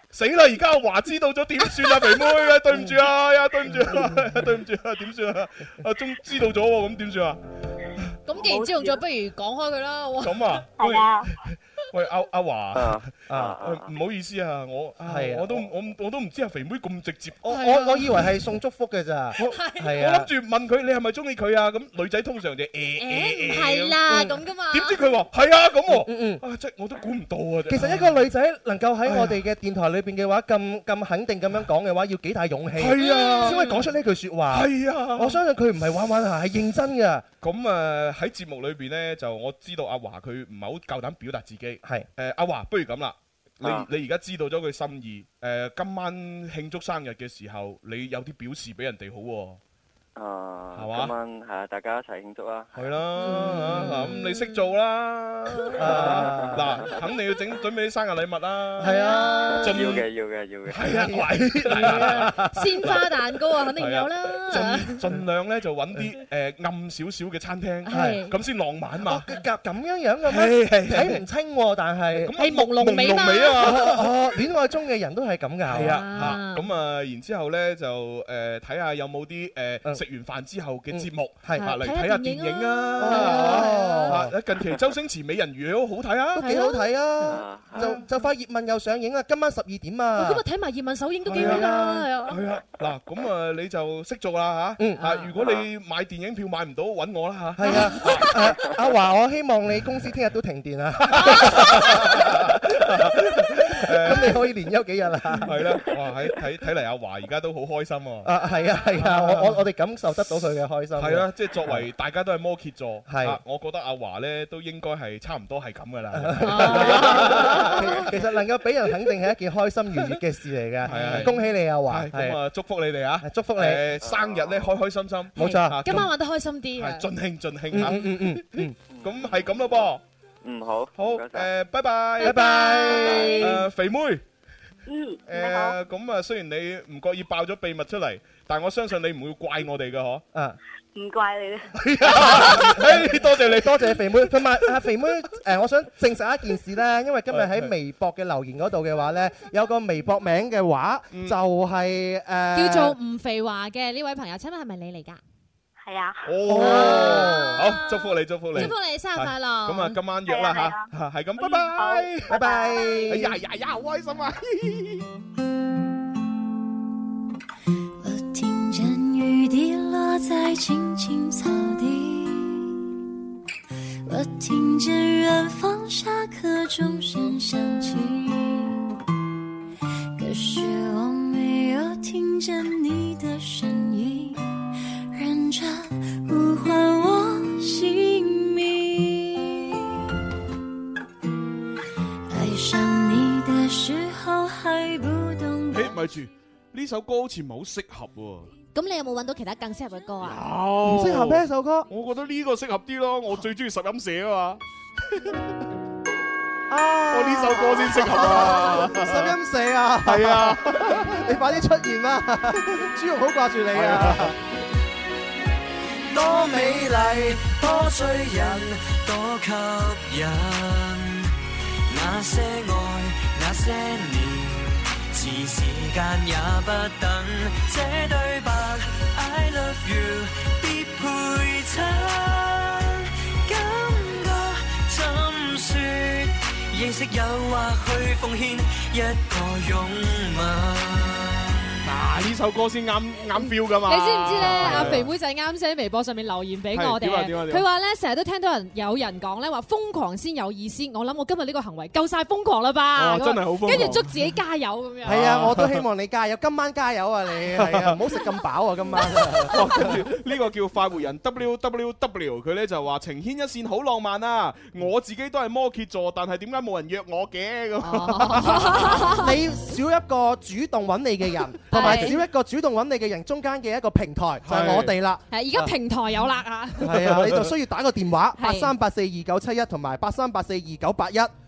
死啦！而家阿華知道咗點算啊，肥妹啊，對唔住啊，呀，對唔住啊，對唔住啊，點算啊？阿鐘知道咗喎，咁點算啊？ 咁既然知道咗，不如講開佢啦。 咁啊， 係啊。 喂，阿阿華啊啊，唔好意思啊，我係啊我都我我都唔知阿肥妹咁直接。 我我我以為係送祝福嘅咋。係啊。 我諗住問佢你係咪中意佢啊？咁女仔通常就誒誒唔係啦咁噶嘛。 點知佢話係啊咁喎。嗯嗯。啊，即係我都估唔到啊。 其實一個女仔能夠喺我哋嘅電台裏邊嘅話，咁咁肯定咁樣講嘅話，要幾大勇氣。 係啊。 先可以講出呢句説話。 係啊。 我相信佢唔係玩玩下，係認真嘅。 咁誒喺節目裏邊咧，就我知道阿華佢唔係好夠膽表達自己。係誒阿華，不如咁啦，你你而家知道咗佢心意，誒今晚慶祝生日嘅時候，你有啲表示俾人哋好喎。 啊， 係嘛？ 今晚係啊，大家一齊慶祝啦！ 係啦，嗱咁你識做啦，嗱肯定要整準備啲生日禮物啦。係啊， 要嘅要嘅要嘅。 係啊，喂， 鮮花蛋糕啊，肯定有啦。 盡盡量咧就揾啲誒暗少少嘅餐廳，係咁先浪漫嘛。 咁咁樣樣嘅咩？睇唔清喎，但係係朦朧美嘛。 哦，戀愛中嘅人都係咁㗎。 係啊，嚇咁啊，然之後咧就誒睇下有冇啲誒。食完飯之後嘅節目，係嚟睇下電影啊！近期周星馳美人魚都好睇啊， 都幾好睇啊！就就快葉問又上映啦，今晚十二點啊！ 今日睇埋葉問首映都幾好㗎，係啊！ 係啊，嗱咁啊，你就識做啦嚇！啊，如果你買電影票買唔到，揾我啦嚇！ 係啊，阿華，我希望你公司聽日都停電啊！咁你可以連休幾日啊？ 係啦，哇！喺睇睇嚟，阿華而家都好開心喎！ 啊，係啊，係啊，我我我哋感受得到佢嘅開心。 係啦，即係作為大家都係摩羯座， 係， 我覺得阿華咧都應該係差唔多係咁噶啦。 其實能夠俾人肯定係一件開心愉悅嘅事嚟嘅。係啊，恭喜你阿華！ 咁啊，祝福你哋啊！ 祝福你生日咧開開心心。 冇錯， 今晚玩得開心啲啊！ 盡興盡興嚇。 嗯嗯嗯嗯， 咁係咁咯噃。 嗯，好。 好誒，拜拜。 拜拜。 誒，肥妹。 嗯， 誒咁啊，雖然你唔覺意爆咗秘密出嚟，但係我相信你唔會怪我哋嘅嗬。 啊， 唔怪你啦。 誒，多謝你， 多謝肥妹。同埋阿肥妹，誒，我想證實一件事咧，因為今日喺微博嘅留言嗰度嘅話咧，有個微博名嘅話就係誒叫做吳肥華嘅呢位朋友，請問係咪你嚟㗎？ 係啊！ 哦，好，祝福你，祝福你， 祝福你生日快樂！ 咁啊，今晚約啦吓，係咁，拜拜， 拜拜。 哎呀呀呀，好開心啊！ 我聽見雨滴落在青青草地，我聽見遠方下課鐘聲響起，可是我沒有聽見你的聲音，認真呼喚我姓名，愛上你的時候還不懂。 誒，咪住，呢首歌好似唔係好適合喎。 咁你有冇揾到其他更適合嘅歌啊？ 唔適合咩首歌？ 我覺得呢個適合啲咯，我最中意十音社啊嘛。 啊！ 我呢首歌先適合啊！ 十音社啊！ 係啊！ 你快啲出現啦！朱紅好掛住你啊！ 多美麗，多醉人，多吸引。那些愛，那些年，似時間也不等。這對白 I love you 必配襯，感覺怎說？認識誘惑去奉獻一個擁吻。 嗱，呢首歌先啱啱 feel 噶嘛？ 你知唔知咧？阿肥妹仔啱先喺微博上面留言俾我哋，佢話咧成日都聽到人有人講咧話瘋狂先有意思。我諗我今日呢個行為夠晒瘋狂啦吧？ 真係好瘋狂！ 跟住祝自己加油咁樣。 係啊，我都希望你加油，今晚加油啊你！係啊，唔好食咁飽啊今晚。 跟住呢個叫快活人 W W W， 佢咧就話情牽一線好浪漫啊！我自己都係摩羯座，但係點解冇人約我嘅咁？ 你少一個主動揾你嘅人。同埋少一個主動揾你嘅人，中間嘅一個平台就係我哋啦。 係而家平台有啦啊！ 係啊，你就需要打個電話八三八四二九七一同埋八三八四二九八一。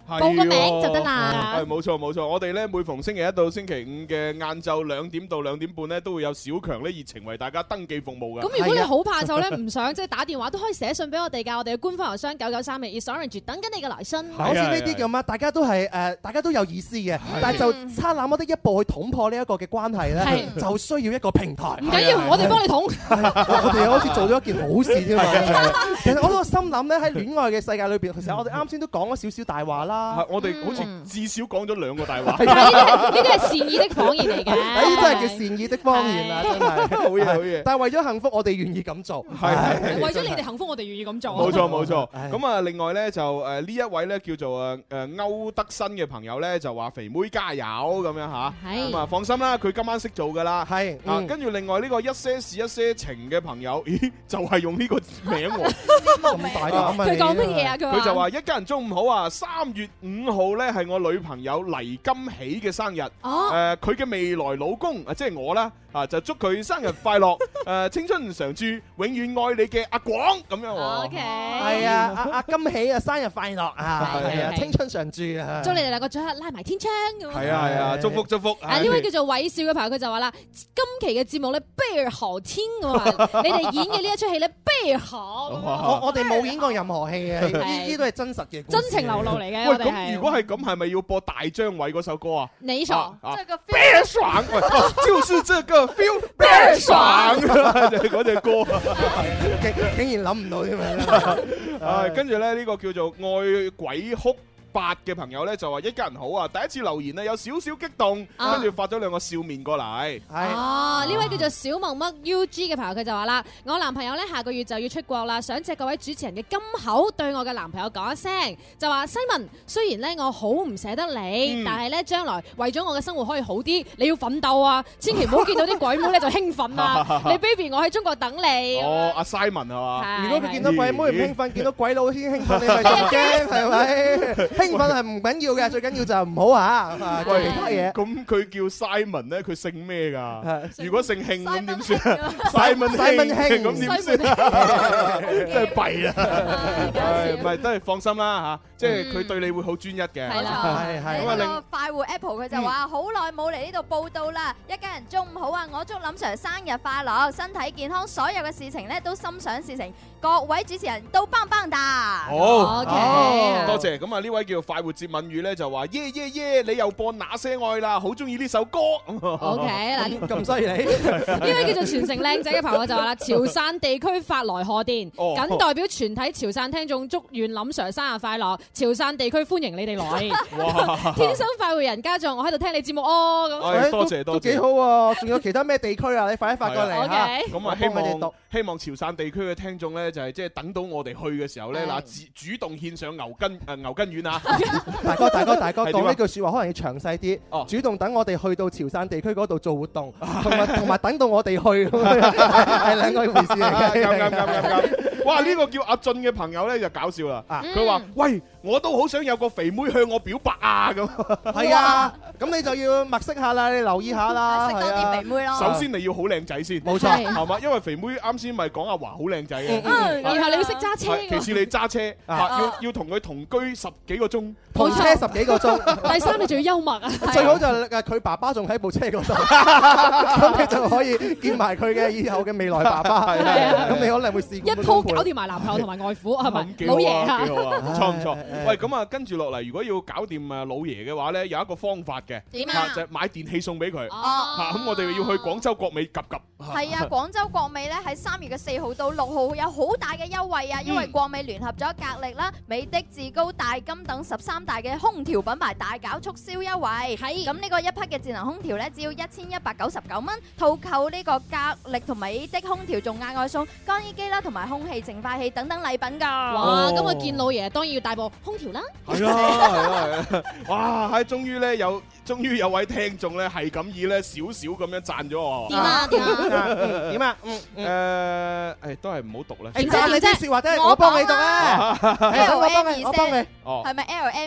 報個名就得啦。 係冇錯冇錯，我哋咧每逢星期一到星期五嘅晏晝兩點到兩點半咧，都會有小強咧熱情為大家登記服務嘅。 咁如果你好怕醜咧，唔想即係打電話，都可以寫信俾我哋㗎。我哋嘅官方郵箱九九三零 is orange 等緊你嘅來信。 好似呢啲咁啊，大家都係誒，大家都有意思嘅，但係就差那麼的一步去捅破呢一個嘅關係咧，就需要一個平台。 唔緊要，我哋幫你捅。 我哋好似做咗一件好事添嘛。其實我都心諗咧，喺戀愛嘅世界裏邊，其實我哋啱先都講咗少少大話啦。 我哋好似至少講咗兩個大話。 呢啲係善意的謊言嚟嘅。 呢啲真係叫善意的謊言啊！真係好嘢好嘢。 但係為咗幸福，我哋願意咁做。 係為咗你哋幸福，我哋願意咁做。 冇錯冇錯。咁啊，另外咧就誒呢一位咧叫做誒誒歐德新嘅朋友咧就話肥妹加油咁樣嚇。咁啊放心啦，佢今晚識做㗎啦。係啊，跟住另外呢個一些事一些情嘅朋友，咦就係用呢個名喎。咁大膽佢講乜嘢啊？佢佢就話一家人中午好啊！三月五號咧係我女朋友黎金喜嘅生日。哦。誒，佢嘅未來老公啊，即係我啦，啊就祝佢生日快樂，誒青春常駐，永遠愛你嘅阿廣咁樣。 O K。 係啊，阿阿金喜啊，生日快樂啊！係啊，青春常駐啊！ 祝你哋兩個最後拉埋天窗咁。 係啊係啊，祝福祝福。 啊呢位叫做韋少嘅朋友佢就話啦，今期嘅節目咧倍兒好聽喎，你哋演嘅呢一出戲咧倍兒好。 我我哋冇演過任何戲嘅，呢啲都係真實嘅， 真情流露嚟嘅。 喂，咁如果係咁，係咪要播大張偉嗰首歌啊？ 你爽， 這個倍兒爽，就是這個 feel， 倍兒爽，就係嗰隻歌。 竟竟然諗唔到添啊！ 啊，跟住咧呢個叫做愛鬼哭八嘅朋友咧就話一家人好啊！第一次留言咧有少少激動，跟住發咗兩個笑面過嚟。 哦，呢位叫做小萌乜 U G 嘅朋友佢就話啦：我男朋友咧下個月就要出國啦，想借各位主持人嘅金口對我嘅男朋友講一聲，就話西文，雖然咧我好唔捨得你，但係咧將來為咗我嘅生活可以好啲，你要奮鬥啊！千祈唔好見到啲鬼妹咧就興奮啊！你 baby 我喺中國等你。 哦，阿 Simon 係嘛？ 如果佢見到鬼妹唔興奮，見到鬼佬先興奮，你咪驚係咪？興奮係唔緊要嘅，最緊要就唔好啊！做其他嘢。 咁佢叫 Simon 咧，佢姓咩㗎？如果姓慶咁點算 ？Simon Simon 慶咁點算？真係弊啦！唔係，都係放心啦嚇，即係佢對你會好專一嘅。 係啦，係係。呢個快活 Apple 佢就話：好耐冇嚟呢度報道啦！一家人中午好啊！我祝林 Sir 生日快樂，身體健康，所有嘅事情咧都心想事成。各位主持人都棒棒噠。 好 OK，多謝。咁啊呢位叫快活接吻語咧就話耶耶耶，你又播那些愛啦，好中意呢首歌。 OK 嗱， 咁犀利。 呢位叫做全城靚仔嘅朋友就話啦，潮汕地區發來賀電，僅代表全體潮汕聽眾祝願林 Sir 生日快樂，潮汕地區歡迎你哋來。哇！天生快活人家長，我喺度聽你節目哦。 咁多謝多謝， 都幾好喎。仲有其他咩地區啊？你快啲發過嚟嚇。 咁啊希望希望潮汕地區嘅聽眾咧就係即係等到我哋去嘅時候咧嗱，主主動獻上牛筋誒牛筋丸啊！ 大哥大哥大哥，講呢句説話可能要詳細啲，主動等我哋去到潮汕地區嗰度做活動，同埋同埋等到我哋去，係兩個回事嚟嘅。 啱啱啱啱啱！哇！呢個叫阿俊嘅朋友咧就搞笑啦，佢話：喂，我都好想有個肥妹向我表白啊！咁係啊，咁你就要物色下啦，你留意下啦， 識多啲肥妹咯。 首先你要好靚仔先， 冇錯， 係嘛？因為肥妹啱先咪講阿華好靚仔嘅， 然後你要識揸車， 其次你揸車，要要同佢同居十幾個鐘， 同車十幾個鐘。 第三你仲要幽默啊！ 最好就係佢爸爸仲喺部車嗰度，咁你就可以見埋佢嘅以後嘅未來爸爸。咁你可能會試一鋪搞掂埋男朋友同埋外父，係咪？老爺啊， 幾好啊，唔錯唔錯。喂，咁啊，跟住落嚟，如果要搞掂誒老爺嘅話咧，有一個方法嘅， 點啊？ 就係買電器送俾佢。 哦， 嚇，咁我哋要去廣州國美及及。 係啊，廣州國美咧喺三月嘅四號到六號有好大嘅優惠啊！因為國美聯合咗格力啦、美的、志高、大金等十三大嘅空調品牌大搞促銷優惠。係咁呢個一匹嘅智能空調咧，只要一千一百九十九蚊，套購呢個格力同美的空調，仲額外送乾衣機啦，同埋空氣淨化器等等禮品㗎。 哇！咁我見老爺當然要帶部空調啦。 係啊係啊係啊！哇！係終於咧有。終於有位聽眾咧係咁以咧少少咁樣讚咗我。 點啊點啊點啊？嗯誒誒都係唔好讀啦。 誒讚你啲説話啫，我幫你讀啊。 L M 我幫你，我幫你。 哦， 係咪 L M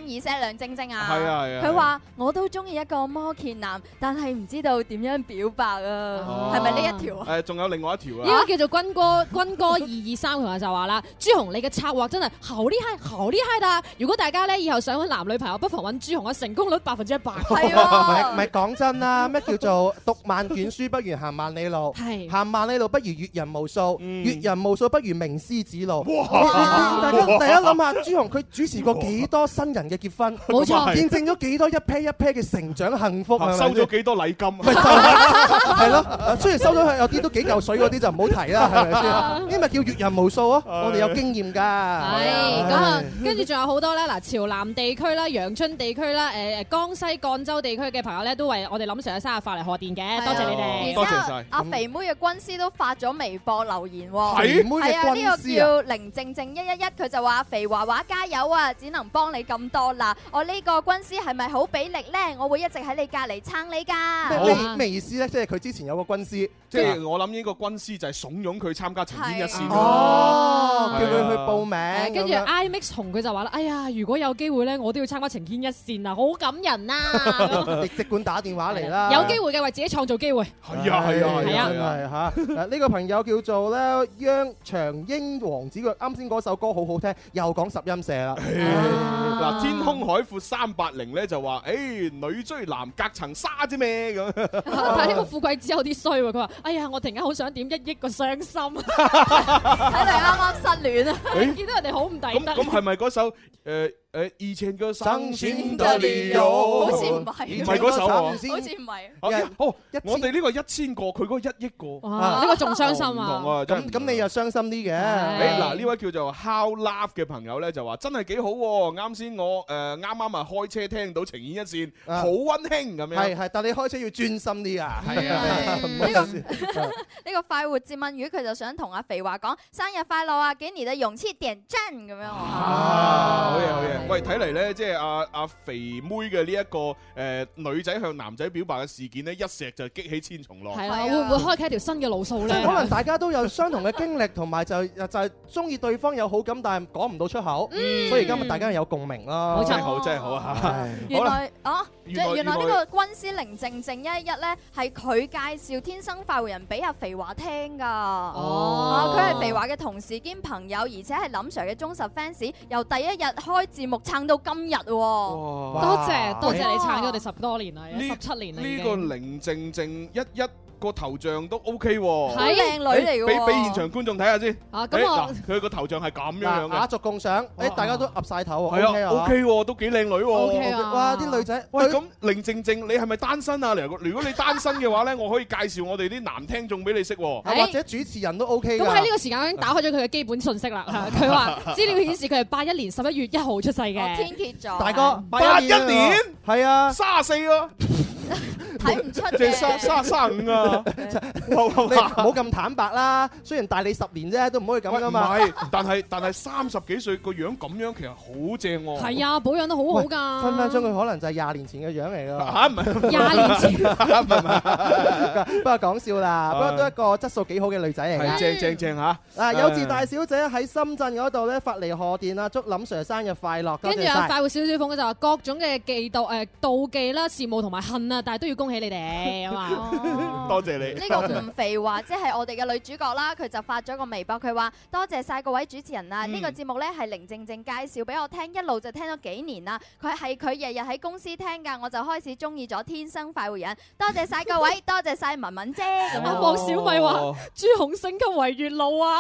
意識梁晶晶啊。 係啊係啊。 佢話我都中意一個摩羯男，但係唔知道點樣表白啊？係咪呢一條啊？ 誒，仲有另外一條啊。 呢個叫做軍哥軍哥二二三，佢就話啦：朱紅你嘅策劃真係好厲害，好厲害㗎！如果大家咧以後想揾男女朋友，不妨揾朱紅啊，成功率百分之一百。 係啊，唔係講真啦，咩叫做讀萬卷書不如行萬里路？ 係行萬里路不如閱人無數，閱人無數不如名師指路。 哇！ 大家大家諗下，朱紅佢主持過幾多新人嘅結婚？ 冇錯， 見證咗幾多一 pair 一 pair 嘅成長幸福， 收咗幾多禮金？ 係咯，雖然收咗有啲都幾嚿水嗰啲就唔好提啦，係咪先？呢咪叫閱人無數啊！我哋有經驗㗎。 係咁啊，跟住仲有好多咧，嗱，潮南地區啦、陽春地區啦、誒誒江西贛州地區嘅朋友咧，都為我哋林 Sir 嘅生日發嚟賀電嘅，多謝你哋， 多謝晒。阿肥妹嘅軍師都發咗微博留言喎， 肥妹嘅軍師啊， 呢個叫寧靜靜一一一，佢就話肥華華加油啊，只能幫你咁多啦。我呢個軍師係咪好俾力咧？我會一直喺你隔離撐你㗎。 咩咩意思咧？即係佢之前有個軍師， 即係我諗呢個軍師就係慫恿佢參加情牽一線哦，叫佢去報名。 跟住 IMAX 紅佢就話啦：哎呀，如果有機會咧，我都要參加情牽一線啊，好感人啊！ 你即管打電話嚟啦。 有機會嘅為自己創造機會。 係啊係啊係啊係啊嚇！呢個朋友叫做咧央長英王子，佢啱先嗰首歌好好聽，又講十音社啦。 嗱，天空海闊三八零咧就話：誒女追男隔層紗啫咩咁。 但係呢個富貴只有啲衰喎，佢話：哎呀，我突然間好想點一億個傷心， 睇嚟啱啱失戀啊！ 見到人哋好唔抵得。 咁咁係咪嗰首誒？誒以前嘅傷心的理由，好似唔係， 唔係嗰首喎， 好似唔係。 哦，我哋呢個一千個，佢嗰一億個， 呢個仲傷心啊！ 唔同啊， 咁咁你又傷心啲嘅。 誒嗱，呢位叫做 How Love 嘅朋友咧就話真係幾好喎，啱先我誒啱啱啊開車聽到情牽一線，好溫馨咁樣。 係係，但你開車要專心啲啊。 係啊， 呢個呢個快活接吻魚佢就想同阿肥華講生日快樂啊，給你的勇氣點讚咁樣。 啊，好嘢好嘢。喂，睇嚟咧，即係阿阿肥妹嘅呢一個誒女仔向男仔表白嘅事件咧，一石就激起千重浪。 係啦，會唔會開啟一條新嘅路數咧？ 可能大家都有相同嘅經歷，同埋就就係中意對方有好感，但係講唔到出口，所以今日大家有共鳴咯。 真係好，真係好啊！ 原來啊，原來呢個軍師寧靜靜一一咧，係佢介紹《天生快活人》俾阿肥華聽㗎。哦，佢係肥華嘅同事兼朋友，而且係林 Sir 嘅忠實 fans，由第一日開節目撐到今日喎。 多謝多謝你撐咗我哋十多年啦，十七年啦已經。 呢個寧靜靜一一個頭像都 OK 喎， 係靚女嚟嘅喎。 俾俾現場觀眾睇下先。 啊，咁我佢個頭像係咁樣樣嘅。 雅俗共賞，誒大家都岌曬頭喎。 係啊 ，OK 喎，都幾靚女喎。 OK 啊。 哇，啲女仔。 喂，咁寧靜靜，你係咪單身啊？如果你單身嘅話咧，我可以介紹我哋啲男聽眾俾你識喎。 或者主持人都 OK 㗎。 咁喺呢個時間我已經打開咗佢嘅基本信息啦。佢話資料顯示佢係八一年十一月一號出世嘅。 天蠍座。 大哥， 八一年。 係啊。 卅四咯。 睇唔出嘅， 即係三三三五啊！ 你唔好咁坦白啦。雖然大你十年啫，都唔可以咁噶嘛。 唔係，但係但係三十幾歲個樣咁樣，其實好正喎。 係啊，保養得好好㗎。 分分鐘佢可能就係廿年前嘅樣嚟㗎。 嚇唔係廿年前。 唔係唔係，不過講笑啦。不過都一個質素幾好嘅女仔嚟㗎。 係正正正嚇。 嗱，幼稚大小姐喺深圳嗰度咧發嚟賀電啊，祝林 Sir 生日快樂。 跟住有快活小小鳳就話各種嘅嫉妒誒妒忌啦、羨慕同埋恨啊，但係都要恭喜你哋啊嘛！ 多謝你。 呢個吳肥華即係我哋嘅女主角啦，佢就發咗個微博，佢話多謝晒各位主持人啊！呢個節目咧係寧靜靜介紹俾我聽，一路就聽咗幾年啦。佢係佢日日喺公司聽㗎，我就開始中意咗天生快活人。多謝晒各位，多謝晒文文姐。 阿黃小米話朱紅升級為月老啊！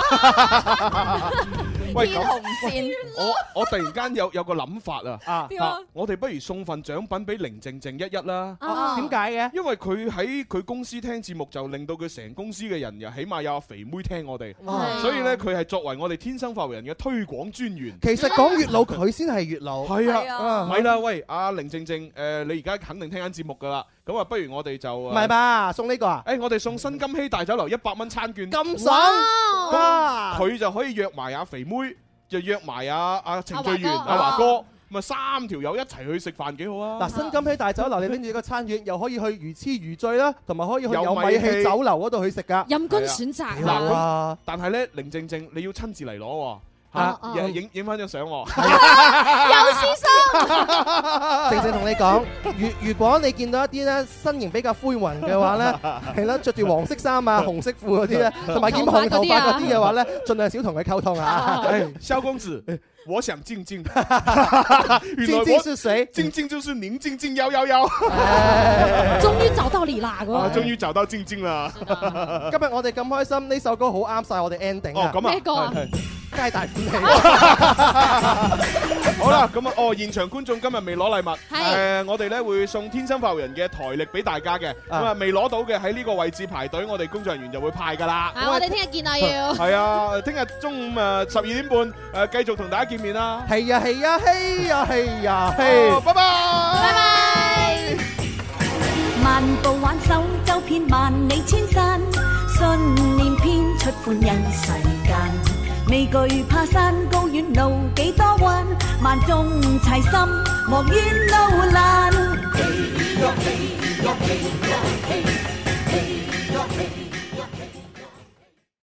喂， 天紅線。 我我突然間有有個諗法啊！ 點啊？ 我哋不如送份獎品俾寧靜靜一一啦。 點解嘅？ 因為佢喺佢公司聽節目，就令到佢成公司嘅人又起碼有阿肥妹聽我哋，所以咧佢係作為我哋天生快活人嘅推廣專員。 其實講月老，佢先係月老。 係啊，咪啦，喂，阿寧靜靜，誒，你而家肯定聽緊節目噶啦，咁啊，不如我哋就唔係吧？送呢個啊？ 誒，我哋送新金禧大酒樓一百蚊餐券， 咁爽哇！佢就可以約埋阿肥妹，就約埋阿阿程序員阿華哥。咪三條友一齊去食飯幾好啊！ 嗱，新金禧大酒樓你拎住個餐券，又可以去魚翅魚醉啦，同埋可以去有米氣酒樓嗰度去食噶， 任君選擇。 嗱，但係咧，寧靜靜你要親自嚟攞喎。 嚇，影影影翻張相喎， 有私心。 正正同你講，如如果你見到一啲咧身形比較灰雲嘅話咧，係啦，着住黃色衫啊、紅色褲嗰啲咧，同埋染紅頭髮嗰啲嘅話咧，盡量少同佢溝通啊。 蕭公子。我想靜靜， 靜靜是誰？ 靜靜就是寧靜靜幺幺幺。 終於找到你啦！ 啊，終於找到靜靜啦！ 今日我哋咁開心，呢首歌好啱晒我哋 ending 啊！ 哦，咁啊， 咩歌啊？ 皆大歡喜。 好啦，咁啊，哦，現場觀眾今日未攞禮物， 係誒，我哋咧會送天生發育人嘅台歷俾大家嘅，咁啊未攞到嘅喺呢個位置排隊，我哋工作人員就會派噶啦。 啊，我哋聽日見啊要。係啊，聽日中午誒十二點半誒繼續同大家見面啦。 係呀係呀係呀係呀係。 拜拜拜拜。 漫步挽手走遍萬里千山，信念編出歡欣世間。未懼怕山高遠路幾多彎，萬眾齊心莫怨路難。